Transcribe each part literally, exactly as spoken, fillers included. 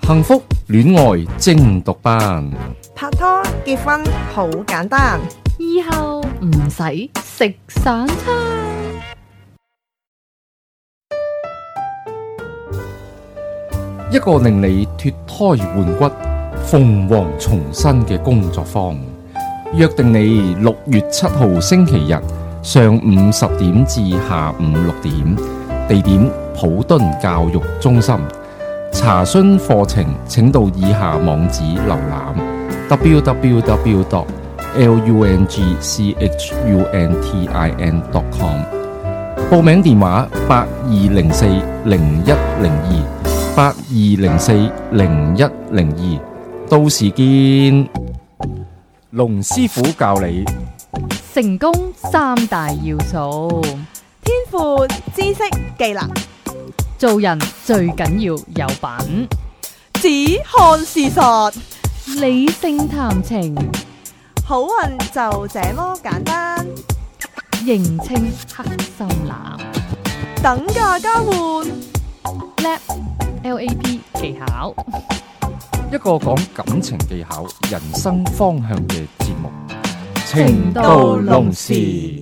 幸福戀愛精讀班， 拍拖結婚好簡單， 以後唔使食散餐。 一個令你脫胎換骨、鳳凰重生嘅工作坊，約定你六月七號星期日上午十點至下午六點，地點普敦教育中心。查詢課程請到以下網址瀏覽 double-u double-u double-u dot lungchuntine dot com。 報名電話八二零四零一零二八二零四零一零二，到時見。龍師傅教你成功三大要素： 天賦、知識、技能。 做人最緊要有品， 只看事實， 理性談情， 好運就這麼簡單。 認清黑心男， 等價交換 Lab L A P 技巧， 一個講感情技巧、人生方向嘅節目。 情到濃時。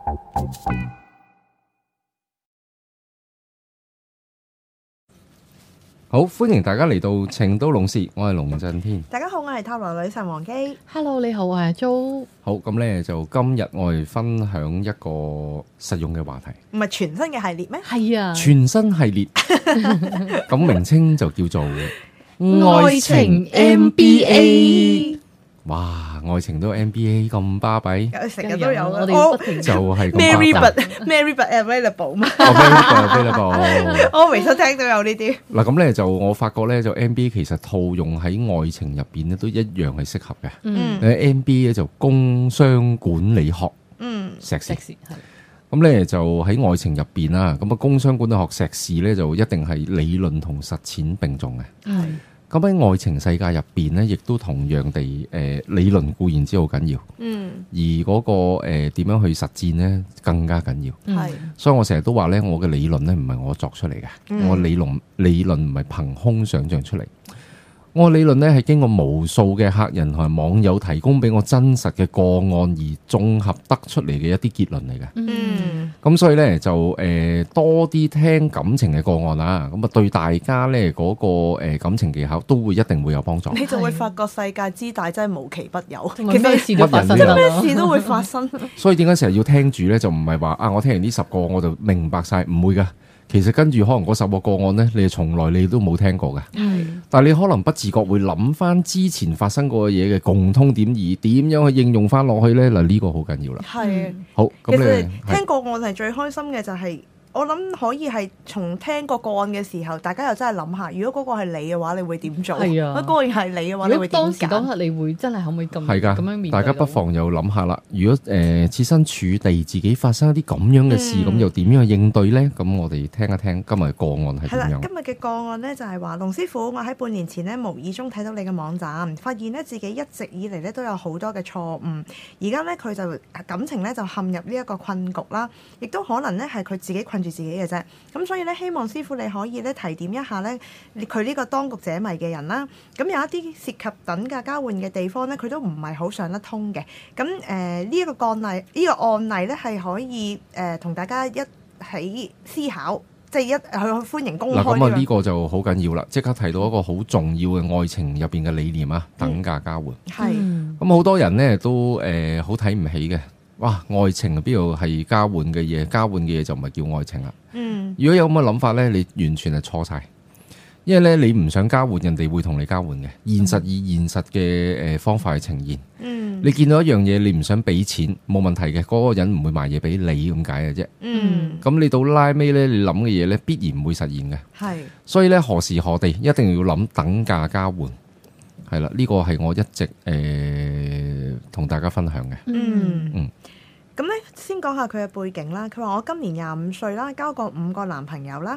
好，歡迎大家嚟到情到濃時，我係龍震天。 大家好，我係塔羅女神王姬。 Hello， 你好，我係 Jo。 好，咁咧就今日我哋分享一個實用嘅話題。 唔係全新嘅系列咩？ 係啊， 全新系列，咁名稱就叫做愛情 M B A。 哇，愛情都 M B A 咁巴閉， 成日都有我哋不停就係 Mary but Mary but available 嘛。 哦 ，Mary but available。 我微信聽到有呢啲。 嗱，咁咧就我發覺咧，就 M B A 其實套用喺愛情入邊咧，都一樣係適合嘅。 嗯。 誒 M B A 咧就工商管理學。嗯。碩士。碩士係。咁咧就喺愛情入邊啦，咁啊工商管理學碩士咧就一定係理論同實踐並重嘅。係。咁喺愛情世界入邊咧，亦都同樣地，誒、呃、理論固然之好緊要，嗯，而嗰、那個誒點、呃、樣去實踐咧更加緊要，係、嗯。所以我成日都話咧，我嘅理論咧唔係我作出嚟嘅，嗯、我理論理論唔係憑空想象出嚟。我理論咧係經過無數嘅客人同埋網友提供俾我真實嘅個案而綜合得出嚟嘅一啲結論嚟嘅。嗯，咁所以咧就誒、呃、多啲聽感情嘅個案啦，咁啊對大家咧嗰、那個誒、呃、感情技巧都會一定會有幫助。 你就會發覺世界之大真係無奇不有， 其實咩事都發生， 咩事都會發生。 所以點解成日要聽住咧？就唔係話啊，我聽完呢十個我就明白晒，唔會噶。其實跟住可能嗰十個個案呢，你從來你都冇聽過嘅。係，但係你可能不自覺會諗翻之前發生過嘅嘢嘅共通點，而點樣去應用翻落去呢？嗱，呢個好緊要啦。係，好，咁你聽個案係最開心嘅就係、是。我諗可以係從聽個個案嘅時候，大家又真係諗下，如果嗰個係你嘅話，你會點做？係啊，嗰個係你嘅話，你會點揀？當時當刻你會真係可唔可以咁係㗎？咁樣面對？大家不妨又諗下啦。如果誒設身處地自己發生一啲咁樣嘅事，咁、嗯、又點樣去應對呢？咁我哋聽一聽今日個案係點樣？係啦， 今日嘅個案呢，就係話，龍師傅，我喺半年前呢，無意中睇到你嘅網站，發現呢自己一直以嚟呢都有好多嘅錯誤，而家呢，佢就感情呢就陷入呢一個困局啦，亦都可能呢係佢自己困住自己嘅啫。咁所以咧，希望師傅你可以咧提點一下咧，佢呢個當局者迷嘅人啦。咁有一啲涉及等價交換嘅地方咧，佢都唔係好上得通嘅。咁誒呢一個案例，呢、呢個案例咧係可以誒同、呃、大家一起思考，即係一去歡迎公開。嗱，咁啊呢個就好緊要啦，即刻提到一個好重要嘅愛情入邊嘅理念啊，等價交換。係、嗯。咁好多人咧都誒好睇唔起嘅。哇！愛情邊度係交換嘅嘢？交換嘅嘢就唔係叫愛情啦。嗯，如果有咁嘅諗法呢，你完全係錯晒。因為咧，你唔想交換，人哋會同你交換嘅。現實以現實嘅誒方法去呈現。嗯，你見到一樣嘢，你唔想俾錢，冇問題嘅，嗰、嗰個人唔會賣嘢俾你咁解嘅啫。嗯，咁你到拉尾呢，你諗嘅嘢呢，必然唔會實現嘅。係，所以呢，何時何地一定要諗等價交換。係啦，呢個係我一直誒同、呃、大家分享嘅。嗯嗯， 咁咧先講下佢嘅背景啦。佢話我今年廿五歲啦，交過五個男朋友啦。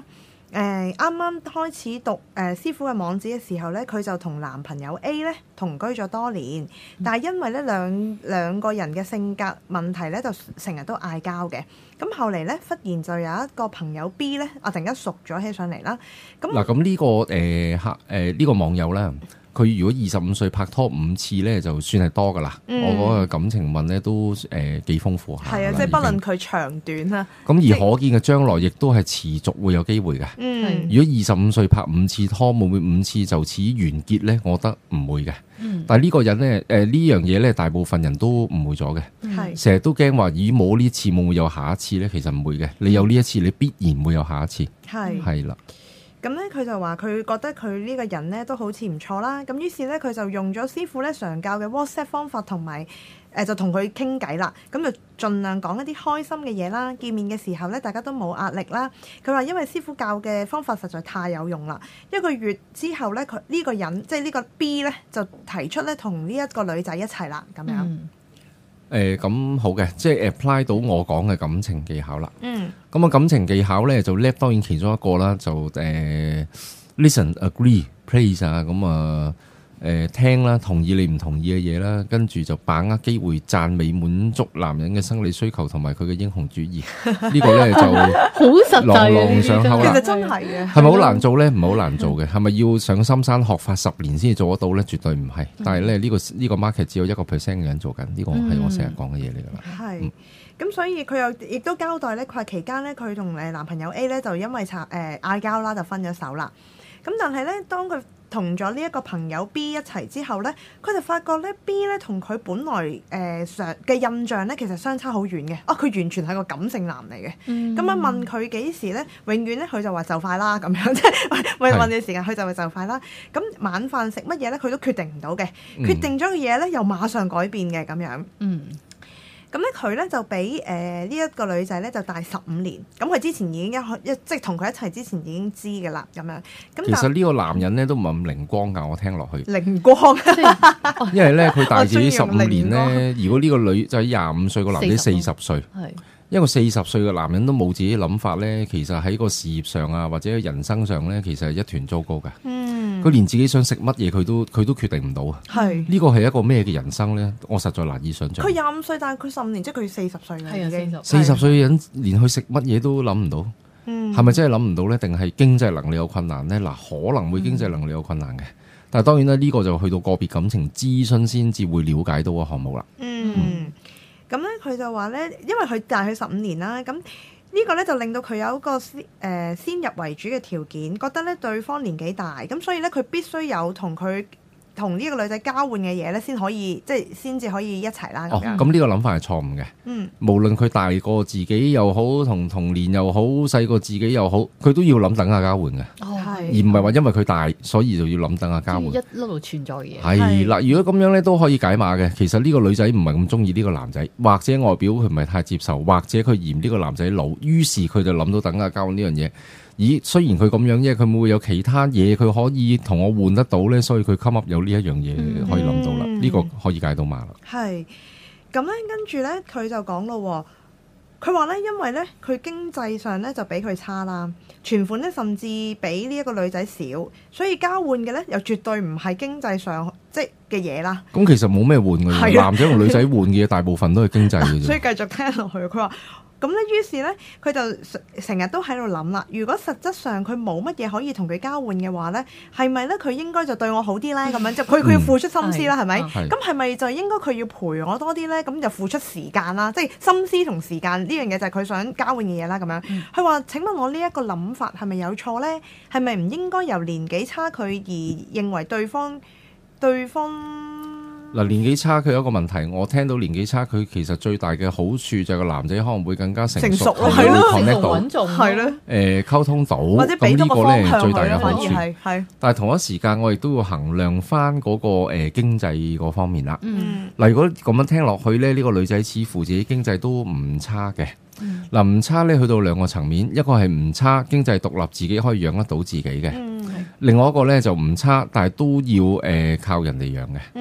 誒啱啱開始讀誒、呃、師傅嘅網址嘅時候咧，佢就同男朋友 A 咧同居咗多年，但係因為咧兩兩個人嘅性格問題咧，就成日都嗌交嘅。咁後嚟咧，忽然就有一個朋友 B 咧，啊突然間熟咗起上嚟啦。咁嗱，咁呢個誒客誒呢個網友咧。佢如果二十五歲拍拖五次咧，就算係多噶啦。嗯、我嗰個感情問咧都誒幾豐富下。係啊， 即係不論佢長短啦。 咁而可見嘅將來亦都係持續會有機會嘅。嗯，如果二十五歲拍五次拖，會唔會五次就此完結咧？我覺得唔會嘅。嗯、但係呢個人咧，誒、呃、呢樣嘢咧，大部分人都唔會咗嘅。係成日都驚話，咦冇呢次會唔會有下一次咧？其實唔會嘅。你有呢一次，你必然會有下一次。係係啦。 咁咧，佢就話佢覺得佢呢個人咧都好似唔錯啦。咁於是咧，佢就用咗師傅咧常教嘅 WhatsApp 方法，同埋誒就同佢傾偈啦。咁就盡量講一啲開心嘅嘢啦。見面嘅時候咧，大家都冇壓力啦。佢話因為師傅教嘅方法實在太有用啦。一個月之後咧，佢呢個人即係呢個 B 咧就提出咧同呢一個女仔一齊啦。咁樣。嗯誒咁、呃、好嘅，即係 apply 到我講嘅感情技巧啦。嗯，咁啊感情技巧咧就叻，當然其中一個啦，就誒、呃、listen agree praise 啊，咁啊誒聽啦，同意你唔同意嘅嘢啦，跟住就把握機會讚美滿足男人嘅生理需求同埋佢嘅英雄主義。呢個咧就好實際， 朗朗上口啦。 其實真係嘅， 係咪好難做咧？唔係好難做嘅。係咪要上深山學法十年先至做得到咧？絕對唔係。但係咧呢個呢個 market 只有一個 percent 嘅人做緊，呢個係我成日講嘅嘢嚟㗎啦。 係。咁所以佢又亦都交代咧，佢話期間咧佢同誒男朋友 A 咧就因為拆誒嗌交啦，就分咗手啦。咁但係咧，當佢同咗呢一個朋友 B 一齊之後咧，佢就發覺咧 B 咧同佢本來誒上嘅印象咧，其實相差好遠嘅。啊，佢完全係個感性男嚟嘅。咁啊、嗯、問佢幾時咧，永遠咧佢就話就快啦咁樣，即係問問嘅時間，佢就話就快啦。咁晚飯食乜嘢咧，佢都決定唔到嘅。嗯、決定咗嘅嘢咧，又馬上改變嘅咁樣。嗯。咁咧佢咧就比誒呢一個女仔咧就大十五年，咁佢之前已經一一即係同佢一齊之前已經知嘅啦，咁樣。咁其實呢個男人咧都唔係咁靈光㗎，我聽落去。 靈光， 因為咧佢大自己十五年咧，如果呢個女仔廿五歲，個男仔四十歲，係一個四十歲嘅男人都冇自己諗法咧，其實喺個事業上啊或者人生上咧，其實係一團糟糕嘅。嗯。佢連自己想食乜嘢佢都佢都決定唔到啊！係呢個係一個咩嘅人生咧？我實在難以想像。佢廿五歲，但係佢十五年，即係佢四十歲啦，已經四十歲嘅人連去食乜嘢都諗唔到，係咪、嗯、真係諗唔到咧？定係經濟能力有困難咧？嗱，可能會經濟能力有困難嘅，嗯、但係當然啦，呢個就去到個別感情諮詢先至會了解到個項目啦。 嗯，咁咧佢就話咧，因為佢大佢十五年啦，咁。呢個咧就令到佢有一個先誒、呃、先入為主嘅條件，覺得咧對方年紀大，咁所以咧佢必須有同佢同呢個女仔交換嘅嘢咧，先可以即係先至可以一齊啦。 哦，咁呢個諗法係錯誤嘅。嗯，無論佢大過自己又好，同同年又好，細過自己又好，佢都要諗等下交換嘅。哦，係，而唔係話因為佢大，所以就要諗等下交換。一一路存在嘅嘢。 係啦，如果咁樣咧都可以解碼嘅。其實呢個女仔唔係咁中意呢個男仔，或者外表佢唔係太接受，或者佢嫌呢個男仔老，於是佢就諗到等下交換呢樣嘢。咦，雖然佢咁樣，因為佢會唔會有其他嘢佢可以同我換得到咧？所以佢 come up 有呢一樣嘢可以諗到啦。呢、嗯、個可以解到碼啦。係咁咧，跟住咧佢就講咯。佢話咧，因為咧佢經濟上咧就比佢差啦，存款咧甚至比呢一個女仔少，所以交換嘅咧又絕對唔係經濟上即係嘅嘢啦。咁其實冇咩換嘅，的男仔同女仔換嘅嘢大部分都係經濟嘅啫。 所以繼續聽落去，佢話。咁咧，於是咧，佢就成日都喺度諗啦。如果實質上佢冇乜嘢可以同佢交換嘅話咧，係咪咧佢應該就對我好啲咧？咁樣就佢佢要付出心思啦，係咪？咁係咪就應該佢要陪我多啲咧？咁就付出時間啦，即係心思同時間呢樣嘢就係佢想交換嘅嘢啦。咁樣，佢話：請問我呢一個諗法係咪有錯咧？係咪唔應該由年紀差距而認為對方對方？ 嗱，年紀差距有一個問題，我聽到年紀差距其實最大嘅好處就係個男仔可能會更加成熟，係咯，connect 到，係咯，誒溝通到，或者俾到個方向最大嘅好處係。但係同一時間，我亦都要衡量翻嗰個誒經濟嗰方面啦。嗯，嗱，如果咁樣聽落去咧，呢個女仔似乎自己經濟都唔差嘅。嗱，唔差咧，去到兩個層面，一個係唔差，經濟獨立，自己可以養得到自己嘅。嗯，另外一個咧就唔差，但係都要誒靠人哋養嘅。嗯。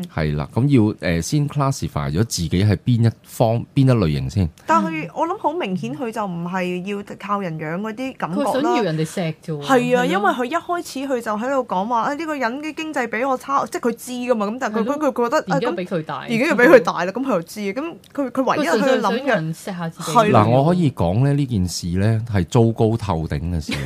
係啦，咁要誒先 classify 咗自己係邊一方邊一類型先。 但係我諗好明顯，佢就唔係要靠人養嗰啲感覺啦。 佢想要人哋錫啫喎。 係啊，因為佢一開始佢就喺度講話，啊呢個人嘅經濟比我差，即係佢知噶嘛。咁但係佢佢佢覺得而家比佢大， 而家又比佢大啦。咁佢又知，咁佢佢唯一佢諗嘅錫下自己。 嗱，我可以講咧呢件事咧係糟糕透頂嘅事，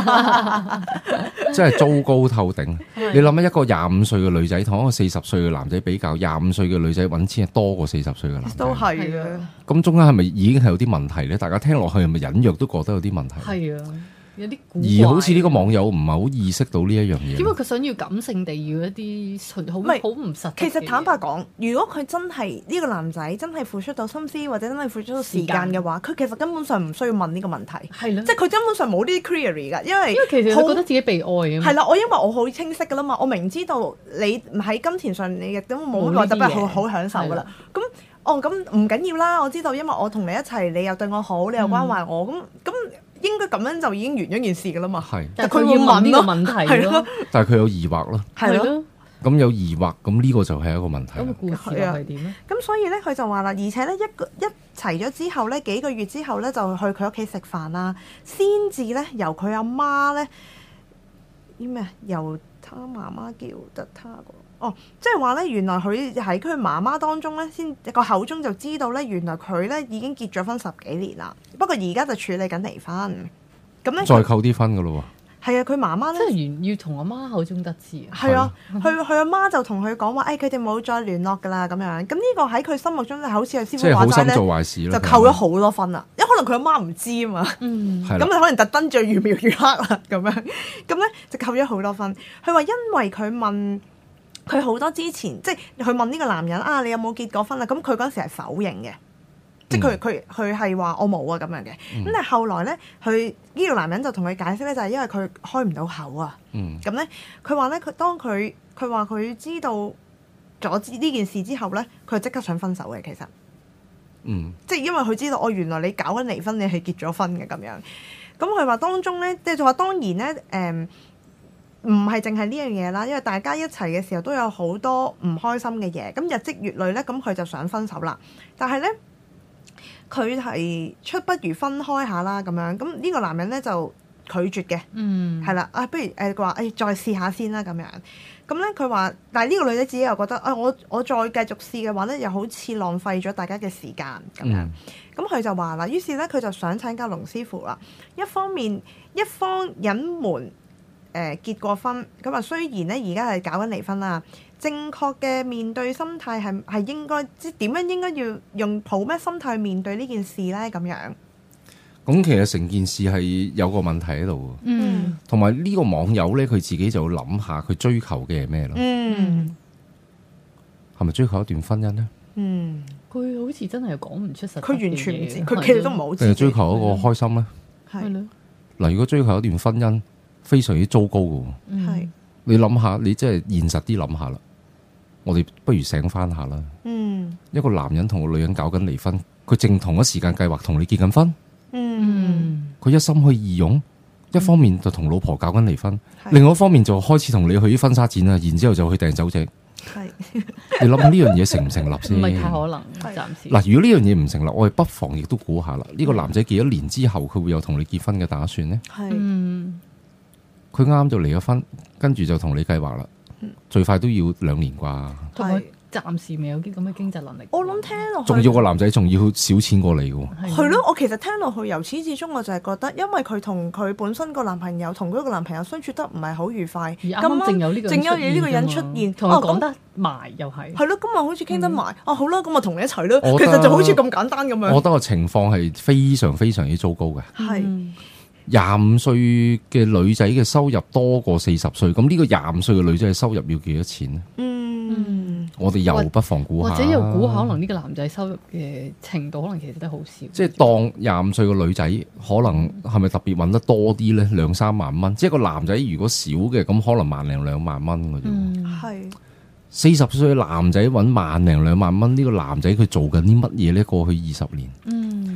真係糟糕透頂。你諗下一個廿五歲嘅女仔同一個四十歲嘅男仔比較，廿五歲嘅女仔揾錢係多過四十歲嘅男仔， 都係啊。 咁中間係咪已經係有啲問題咧？大家聽落去係咪隱約都覺得有啲問題？ 係啊，有啲古怪。 而好似呢個網友唔係好意識到呢一樣嘢。 因為佢想要感性地要一啲好好唔實。 其實坦白講，如果佢真係呢個男仔真係付出到心思或者真係付出到時間嘅話，佢其實根本上唔需要問呢個問題。 係咯， 即係佢根本上冇呢啲 query 㗎，因為因為其實佢覺得自己被愛啊嘛。 係啦，我因為我好清晰㗎啦嘛，我明知道你喺金錢上你亦都冇乜話特別好好享受㗎啦。咁哦，咁唔緊要啦，我知道，因為我同你一齊，你又對我好，你又關懷我，咁咁、嗯、應該咁樣就已經完咗件事㗎啦嘛。係， 但係佢要問呢個問題咯。 但係佢有疑惑咯。 係咯。 咁有疑惑，咁呢個就係一個問題。 咁個故事係點咧？ 咁所以咧，佢就話啦，而且咧一個一齊咗之後咧，幾個月之後咧，就去佢屋企食飯啦，先至咧由佢阿媽咧啲咩由他媽媽叫得他個。哦，即係話咧，原來佢喺佢媽媽當中咧，先個口中就知道咧，原來佢咧已經結咗婚十幾年啦。不過而家就處理緊離婚。咁咧再扣啲分噶咯喎。 係啊，佢媽媽咧， 即係要從阿媽口中得知。 係啊，佢佢阿媽就同佢講話，誒佢哋冇再聯絡噶啦，咁樣。咁呢個喺佢心目中就好似係師傅話齋咧， 做壞事就扣咗好多分啦。因為可能佢阿媽唔知啊嘛， 嗯， 咁就可能特登最越描越黑啦，咁樣。咁咧就扣咗好多分。佢話因為佢問。佢好多之前，即係佢問呢個男人啊，你有冇結過婚啊？咁佢嗰陣時係否認嘅，即係佢佢佢係話我冇啊咁樣嘅。咁、嗯、但係後來咧，佢呢個男人就同佢解釋咧，就係因為佢開唔到口啊。咁咧、嗯，佢話咧，佢當佢佢話佢知道咗呢件事之後咧，佢就即刻想分手嘅。其實，嗯，即係因為佢知道，我、哦、原來你搞緊離婚，你係結咗婚嘅咁樣。咁佢話當中咧，即係就話當然咧，誒、嗯。唔係淨係呢樣嘢啦，因為大家一齊嘅時候都有好多唔開心嘅嘢，咁日積月累咧，咁佢就想分手啦。但係咧，佢係出不如分開下啦咁樣。咁呢個男人咧就拒絕嘅，嗯，係啦，啊，不如誒佢話誒再試下先啦咁樣。咁咧佢話，但係呢個女仔自己又覺得，啊、哎、我我再繼續試嘅話咧，又好似浪費咗大家嘅時間咁樣。咁佢、嗯、就話啦，於是咧佢就想請教龍師傅啦。一方面一方隱瞞。誒、呃、結過婚，咁啊雖然咧而家係搞緊離婚啦，正確嘅面對心態係係應該即係點樣應該要用抱咩心態去面對呢件事咧？咁樣咁其實成件事係有個問題喺度，嗯，同埋呢個網友咧佢自己就諗下佢追求嘅係咩咯，嗯，係咪追求一段婚姻咧？嗯， 佢好似真係講唔出實，佢完全唔知，佢其實都唔好知， 定係追求一個開心咧？ 係咯， 嗱，如果追求一段婚姻。非常之糟糕嘅，係是你諗下，你真係現實啲諗下啦。我哋不如醒翻下啦。嗯，一個男人同個女人搞緊離婚，佢正同一時間計劃同你結緊婚。嗯，佢一心去義勇，一方面就同老婆搞緊離婚，嗯、另外一方面就開始同你去啲婚紗展啊，然之後就去訂酒席。係是，你諗下呢樣嘢成唔成立先？ 唔係太可能，暫時。嗱， 如果呢樣嘢唔成立，我哋不妨亦都估下啦。呢、這個男仔幾多年之後，佢會有同你結婚嘅打算呢？係是，嗯。佢啱就離咗婚，跟住就同你計劃啦，嗯、最快都要兩年啩。 同埋暫時未有啲咁嘅經濟能力。 我諗聽落去， 仲要個男仔仲要少錢過你嘅。 係咯，我其實聽落去由始至終，我就係覺得，因為佢同佢本身個男朋友同嗰個男朋友相處得唔係好愉快， 而啱啱正有呢個正有呢個人出現， 同佢講得埋又係。係咯，咁啊好似傾得埋，哦好啦，咁啊同你一齊咯。其實就好似咁簡單咁樣。 我覺得個情況係非常非常之糟糕嘅。係。廿五歲嘅女仔嘅收入多過四十歲，咁呢個廿五歲嘅女仔嘅收入要幾多錢呢？嗯，我哋又不妨估下， 或者又估下，可能呢個男仔收入嘅程度，可能其實都好少。 即係當廿五歲嘅女仔，可能係咪特別揾得多啲呢？兩三萬蚊，即係個男仔如果少嘅，咁可能萬零兩萬蚊嘅啫。係四十歲嘅男仔揾萬零兩萬蚊，呢個男仔佢做緊啲乜嘢呢？過去二十年，嗯，係。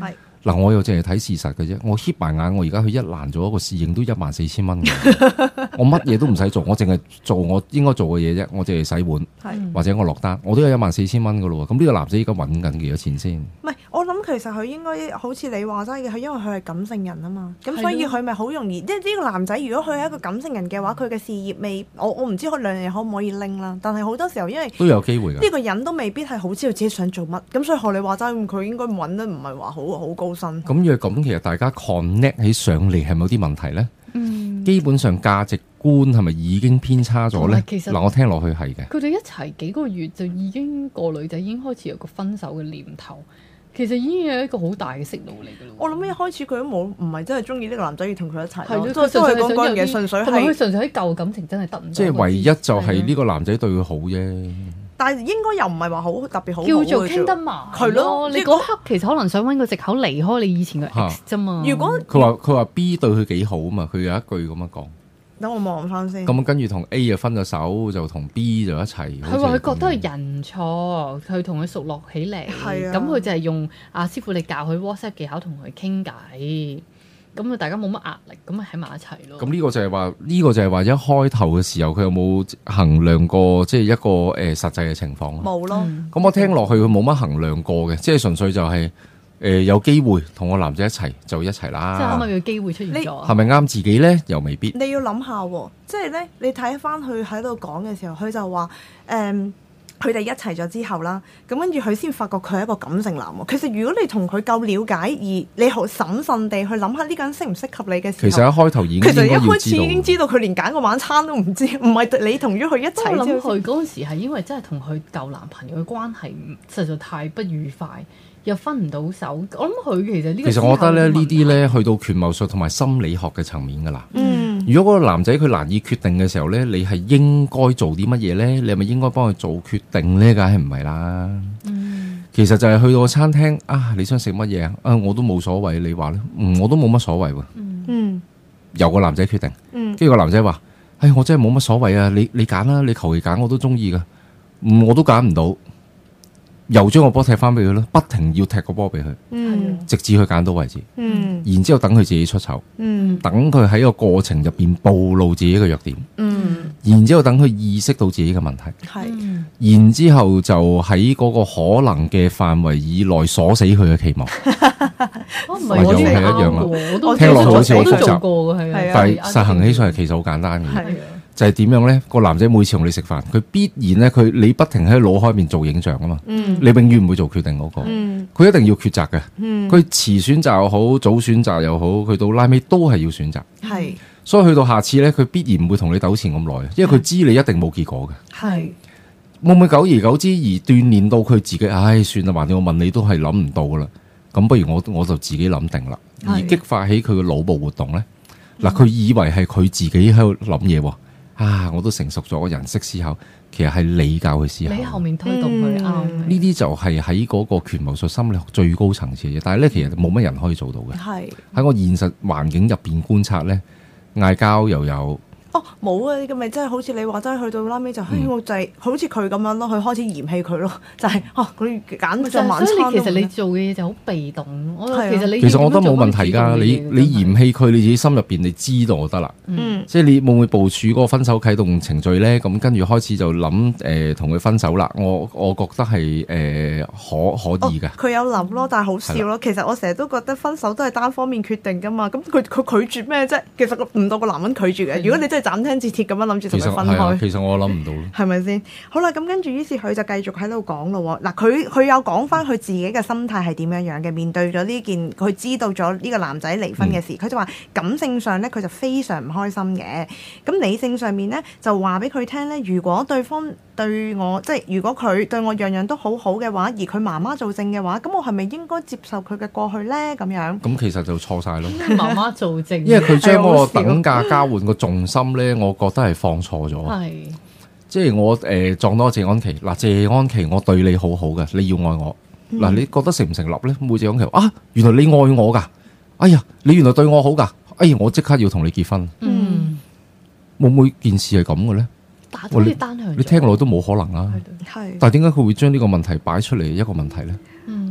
嗱，我又淨係睇事實嘅啫。我瞌埋眼，我而家去一蘭做一個侍應都一萬四千蚊嘅，我乜嘢都唔使做，我淨係做我應該做嘅嘢啫。我淨係洗碗，是或者我落單，我都有一萬四千蚊嘅咯。咁呢個男仔而家揾緊幾多錢先？唔係， 我諗其實佢應該好似你話齋嘅，佢因為佢係感性人啊嘛，咁所以佢咪好容易。即係呢個男仔，如果佢係一個感性人嘅話，佢嘅事業未，我我唔知佢兩樣嘢可唔可以拎啦。但係好多時候因為都有機會嘅， 呢個人都未必係好知道自己想做乜，咁所以學你話齋，佢應該揾得唔係話好好高薪。 咁若咁，其實大家 connect 起上嚟係咪有啲問題咧？嗯，基本上價值觀係咪已經偏差咗咧？其實嗱，我聽落去係嘅。 佢哋一齊幾個月就已經個女仔已經開始有個分手嘅念頭，其實已經有一個好大嘅息怒嚟嘅咯。 我諗一開始佢都冇唔係真係中意呢個男仔要同佢一齊， 係咯，都係講嗰樣嘢，純粹係佢純粹喺舊感情真係得唔到。 即係唯一就係呢個男仔對佢好啫。 但係應該又唔係話好特別好， 叫做傾得埋。係咯，你嗰刻其實可能想揾個藉口離開你以前嘅 ex 啫嘛。如果佢話佢話 B 對佢幾好啊嘛，佢有一句咁樣講。 等我望翻先。 咁跟住同 A 就分咗手，就同 B 就一齊。 佢話佢覺得係人錯，佢同佢熟絡起嚟。係啊。咁佢就係用阿師傅你教佢 WhatsApp 技巧同佢傾偈。咁啊，大家冇乜壓力，咁咪喺埋一齊咯。咁呢個就係話，呢個就係話一開頭嘅時候，佢有冇衡量過，即係一個誒、呃、實際嘅情況？冇咯。咁、嗯、我聽落去，佢冇乜衡量過嘅，即係純粹就係、是、誒、呃、有機會同個男仔一齊就一齊啦。即係啱啱有機會出現咗，係咪啱自己咧？又未必。你要諗下，即係咧，你睇翻佢喺度講嘅時候，佢就話誒。嗯佢哋一齊咗之後啦，咁跟住佢先發覺佢係一個感性男喎。其實如果你同佢夠了解，而你好審慎地去諗下呢個人適唔適合你嘅時候，其實一開頭已經其實一開始已經知道佢連揀個晚餐都唔知，唔係你同咗佢一齊。我諗佢嗰陣時係因為真係同佢舊男朋友嘅關係實在太不愉快，又分唔到手。我諗佢其實呢個其實我覺得咧呢啲咧去到權謀術同埋心理學嘅層面㗎啦。嗯。如果嗰個男仔佢難以決定嘅時候咧，你係應該做啲乜嘢咧？你係咪應該幫佢做決定咧？梗係唔係啦。嗯、其實就係去到個餐廳啊，你想食乜嘢啊？啊，我都冇所謂。你話咧，嗯，我都冇乜所謂喎。嗯，由個男仔決定。嗯，跟住個男仔話：，唉、哎，我真係冇乜所謂啊！你你揀啦，你求其揀我都中意噶。嗯，我都揀唔到。又將個波踢翻俾佢咯，不停要踢個波俾佢，嗯、直至佢揀到為止。嗯、然之後等佢自己出醜，嗯、等佢喺個過程入邊暴露自己嘅弱點。嗯、然之後等佢意識到自己嘅問題。嗯、然之後就喺嗰個可能嘅範圍以內鎖死佢嘅期望。唔係又係一樣啦，聽落去好似好複雜，但係實行起上嚟其實好簡單嘅。就係點樣咧？個男仔每次同你食飯，佢必然咧，佢你不停喺腦海面做影像啊嘛。嗯、你永遠唔會做決定嗰、嗰個，佢、嗯、一定要抉擇嘅。佢、嗯、遲選擇又好，早選擇又好，佢到拉尾都係要選擇。係是，所以去到下次咧，佢必然唔會同你糾纏咁耐，因為佢知你一定冇結果嘅。係是，會唔會久而久之而鍛鍊到佢自己？唉，算啦，橫掂我問你都係諗唔到噶啦。咁不如我我就自己諗定啦，是而激發起佢嘅腦部活動咧。嗱、嗯，佢以為係佢自己喺度諗嘢喎。啊！我都成熟咗，人識思考，其實係你教佢思考，你後面推動佢啱。呢啲、嗯、就係喺嗰個權謀術心理學最高層次嘅嘢，但係咧其實冇乜人可以做到嘅。係喺我現實環境入邊觀察咧，嗌交又有。哦，冇啊！咁咪真係好似你話齋，去到拉尾就，嘿，我就係好似佢咁樣咯，佢開始嫌棄佢咯，就係哦，佢揀咗晚餐。所以其實你做嘅嘢就好被動。我其實你其實我覺得冇問題㗎。你你嫌棄佢，你自己心入邊你知道就得啦。嗯，即係你會唔會部署嗰個分手啟動程序咧？咁跟住開始就諗誒同佢分手啦。我我覺得係誒可可以㗎。佢有諗咯，但係好笑咯。其實我成日都覺得分手都係單方面決定㗎嘛。咁佢佢拒絕咩啫？其實唔到個男人拒絕嘅。如果你真係斬釘截鐵咁樣諗住同佢分開，其實，啊、其實我諗唔到咯，係咪先？好啦，咁跟住於是佢就繼續喺度講咯。嗱，佢佢有講翻佢自己嘅心態係點樣樣嘅，面對咗呢件佢知道咗呢個男仔離婚嘅事，佢、嗯、就話感性上咧佢就非常唔開心嘅。咁理性上面咧就話俾佢聽咧，如果對方對我即係如果佢對我樣樣都好好嘅話，而佢媽媽做證嘅話，咁我係咪應該接受佢嘅過去咧？咁樣咁其實就錯晒咯。媽媽做證，因為佢將嗰個等價交換個重心咧，我覺得係放錯咗。係是，即係我誒、呃、撞到謝安琪嗱，謝安琪我對你好好嘅，你要愛我嗱，嗯、你覺得成唔成立咧？冇謝安琪啊，原來你愛我噶，哎呀，你原來對我好噶，哎呀，我即刻要同你結婚。嗯，會唔會件事係咁嘅咧？好似單向，你聽落都冇可能啦。係，但係點解佢會將呢個問題擺出嚟一個問題咧？嗯，誒、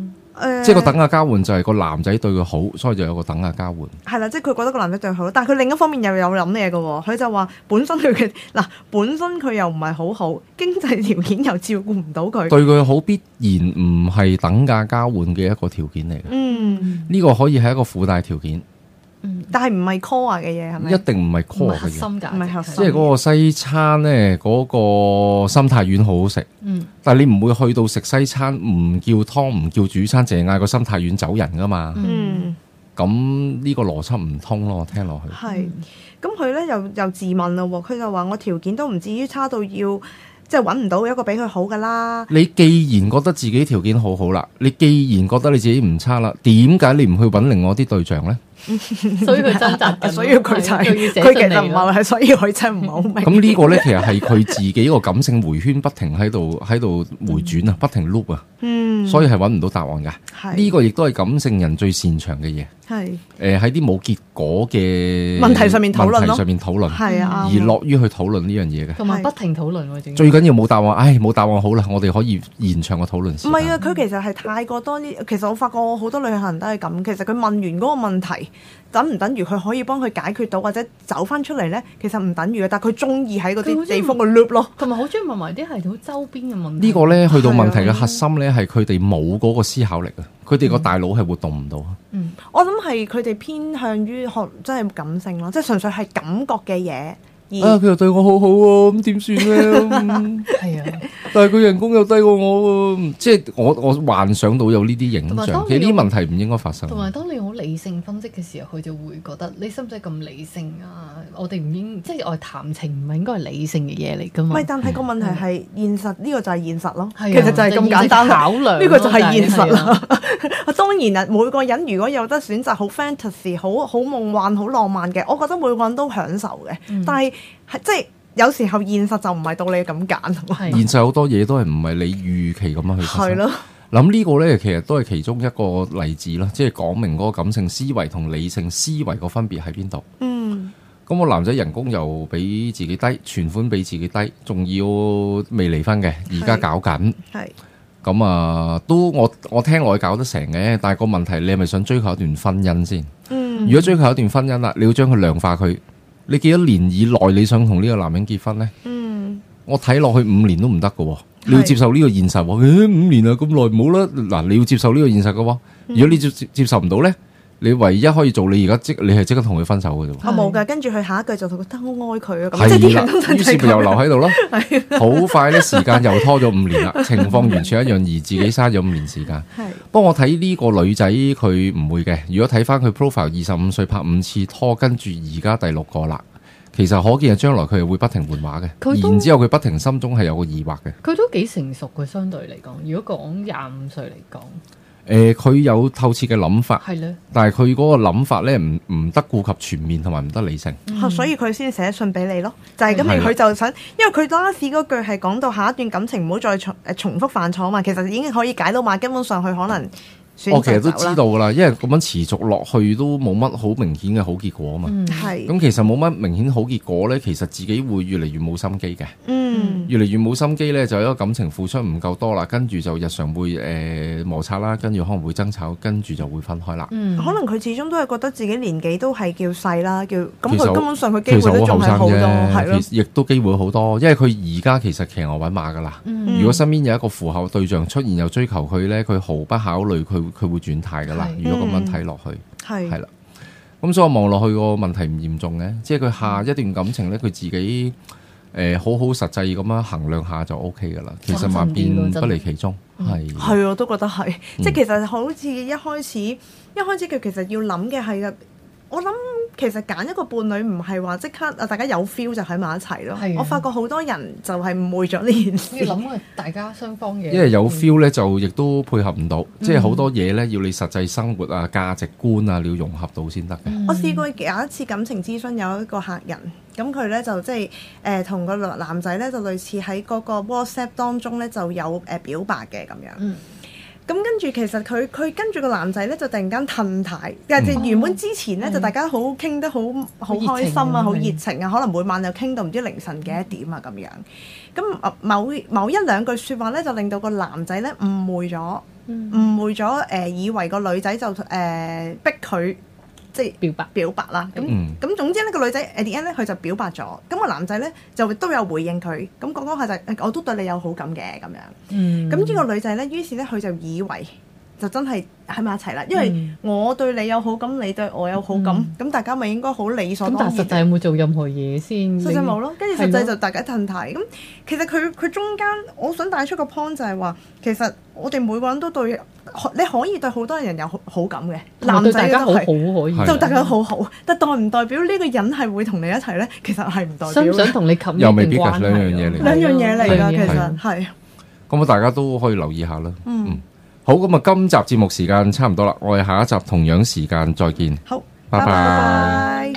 呃、 即係個等價交換就係個男仔對佢好，所以就有個等價交換。 係啦，即係佢覺得個男仔對佢好，但係佢另一方面又有諗嘢嘅喎。佢就話本身佢嘅嗱，本身佢又唔係好好，經濟條件又照顧唔到佢， 對佢好必然唔係等價交換嘅一個條件嚟嘅。嗯，呢個可以係一個附帶條件。 嗯，但係唔係 core 嘅嘢係咪？ 一定唔係 core 嘅嘢， 核心㗎， 唔係核心。 即係嗰個西餐咧，嗰、嗰個心太丸好好食。嗯，但係你唔會去到食西餐唔叫湯唔叫主餐，淨係嗌個心太丸走人㗎嘛。嗯，咁呢個邏輯唔通咯，我聽落去。係， 咁佢咧又又自問啦喎，佢就話我條件都唔至於差到要。即係揾唔到一個比佢好噶啦。 你既然覺得自己條件好好啦，你既然覺得你自己唔差啦，點解你唔去揾另外啲對象咧？ 所以佢掙扎， 所以佢就係佢其實唔係，係所以佢真係唔係好明。 咁呢個咧，其實係佢自己個感性回圈不停喺度喺度回轉啊，不停 loop 啊。嗯，所以係揾唔到答案噶。呢個亦都係感性人最擅長嘅嘢。係誒喺啲冇結果嘅問題上面討論咯， 問題上面討論係啊，而樂於去討論呢樣嘢嘅， 同埋不停討論。 最緊要冇答案，唉，冇答案好啦，我哋可以延長個討論時間。 唔係啊，佢其實係太過多啲。其實我發覺好多旅行人都係咁。其實佢問完嗰個問題，等唔等於佢可以幫佢解決到或者走翻出嚟咧？其實唔等於嘅，但係佢中意喺嗰啲地方個 loop 咯， 同埋好中意問埋啲係好周邊嘅問題。 呢個咧去到問題嘅核心咧，係佢哋冇嗰個思考力啊！佢哋個大腦係活動唔到。 嗯，我諗係佢哋偏向於學真係感性咯，即係純粹係感覺嘅嘢。 啊！佢又對我好好喎，咁點算咧？係啊，但係佢人工又低過我喎，即係我我幻想到有呢啲影像，其實呢啲問題唔應該發生。 同埋當你好理性分析嘅時候，佢就會覺得你使唔使咁理性啊？我哋唔應即係我哋談情唔係應該係理性嘅嘢嚟㗎嘛？ 唔係，但係個問題係現實，呢個就係現實咯。 其實就係咁簡單考量， 呢個就係現實啦。當然啊，每個人如果有得選擇，好 fantasy、好好夢幻、好浪漫嘅，我覺得每個人都享受嘅。但係係即係有時候現實就唔係到你咁揀。 現實好多嘢都係唔係你預期咁樣去發生。係咯。諗呢個咧，其實都係其中一個例子啦，即係講明嗰個感性思維同理性思維個分別喺邊度。嗯。咁個男仔人工又比自己低，存款比自己低，仲要未離婚嘅，而家搞緊。係。咁啊，都我我聽落去搞得成嘅，但係個問題，你係咪想追求一段婚姻先？嗯。如果追求一段婚姻啦，你要將佢量化佢。你幾多年以內你想同呢個男人結婚呢？嗯，我睇落去五年都唔得㗎，你要接受呢個現實。誒、欸，五年啊，咁耐唔好啦。嗱，你要接受呢個現實㗎。如果你接接受唔到呢，你唯一可以做，你而家即你係即刻同佢分手嘅啫。我冇㗎，跟住佢下一句就覺得好愛佢啊。係啦，於是咪又留喺度咯。好快咧，時間又拖咗五年啦，情況完全一樣，而自己嘥咗五年時間。係，不過我睇呢個女仔佢唔會嘅。如果睇翻佢 profile，二十五歲拍五次拖，跟住而家第六個啦。其實可見係將來佢係會不停換畫嘅，然之後佢不停心中係有個疑惑嘅。佢都幾成熟嘅，相對嚟講。如果講廿五歲嚟講。 誒，佢、呃、有透徹嘅諗法， 係咧， 但係佢嗰個諗法咧，唔唔得顧及全面，同埋唔得理性， 嗯、所以佢先寫信俾你咯。就係、是、咁，佢就想，因為佢 last 嗰句係講到下一段感情唔好再重誒重複犯錯啊嘛。其實已經可以解到碼，根本上佢可能。 我其實都知道噶啦，因為咁樣持續落去都冇乜好明顯嘅好結果啊嘛。係、嗯。咁其實冇乜明顯好結果咧，其實自己會越嚟越冇心機嘅。嗯。越嚟越冇心機咧，就一個感情付出唔夠多啦，跟住就日常會誒摩擦啦，跟住可能會爭吵，跟住就會分開啦。嗯。可能佢始終都係覺得自己年紀都係叫細啦，叫咁佢根本上佢機會都仲係好多，係咯。亦都機會好多，因為佢而家其實騎牛揾馬噶啦。嗯、如果身邊有一個符合對象出現又追求佢咧，佢毫不考慮佢。佢會轉態噶啦，如果咁樣睇落去，係係啦，咁所以我望落去個問題唔嚴重嘅，即係佢下一段感情咧，佢自己誒、呃、好好實際咁樣衡量下就 O K 噶啦。其實萬變不離其宗，係係我都覺得係，嗯、即係其實好似一開始一開始佢其實要諗嘅係，我諗其實揀一個伴侶唔係話即刻啊大家有 feel 就喺埋一齊咯。的我發覺好多人就係誤會咗呢件事。 要諗係大家雙方嘅。 因為有 feel 咧，就亦都配合唔到，嗯、即係好多嘢咧要你實際生活啊、價值觀啊，你要融合到先得嘅。嗯、我試過有一次感情諮詢，有一個客人，咁佢咧就即係誒同個男仔咧就類似喺嗰個 WhatsApp 當中咧就有誒、呃、表白嘅咁樣。嗯咁跟住其實佢佢跟住個男仔咧就突然間褪軚，但係原本之前咧、嗯、就大家好傾得好好開心啊，好熱情啊，可能每晚又傾到唔知凌晨幾多點啊咁樣。咁某某一兩句説話咧就令到個男仔咧誤會咗誤會咗誒、呃，以為個女仔就誒、呃、逼佢即係表白表白啦。咁咁、嗯、總之呢個女仔 at the end 咧，佢就表白咗。咁、個男仔咧就都有回應佢。咁講講下就我都對你有好感嘅咁樣。嗯。咁呢個女仔咧，於是咧佢就以為就真係喺埋一齊啦。因為我對你有好感，你對我有好感，咁、嗯、大家咪應該好理所當然。咁但係實際有冇做任何嘢先？實際冇咯。跟住實際就大家褪軚。咁其實佢佢中間，我想帶出個 point 就係話，其實我哋每個人都對你可以對好多人有好好感嘅，男仔都係，就大家好好，但代唔代表呢個人係會同你一齊咧？其實係唔代表。想唔想同你冚又未必㗎，兩樣嘢嚟。兩樣嘢嚟㗎，其實係。 咁啊，大家都可以留意下啦。嗯。嗯好，咁啊，今集節目時間差唔多啦，我哋下一集同樣時間再見。 好， 拜拜。 拜拜。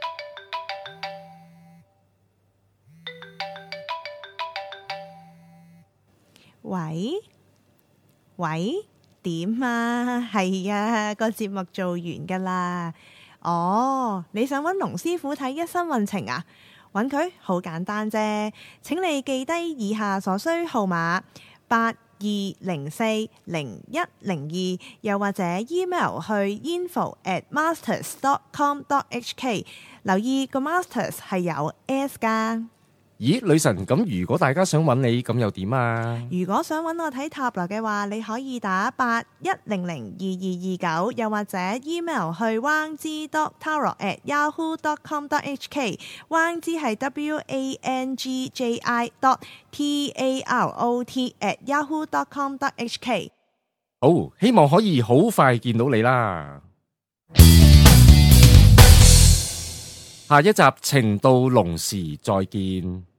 喂喂，點啊？係啊，個節目做完噶啦。哦，你想揾龍師傅睇一生運程啊？揾佢好簡單啫，請你記低以下所需號碼八。二零四零一零二，又或者 email 去 info at masters dot com dot h k， 留意個 masters 係有 s 噶。 咦，女神，咁如果大家想揾你，咁又點啊？ 如果想揾我睇塔羅嘅話，你可以打八一零零二二二九，又或者 email 去 wang ji dot tarot at yahoo dot com dot h k。wang ji 係 w a n g j i dot t a r o t at yahoo dot com dot h k。 好，希望可以好快見到你啦。下一集情到濃時再見。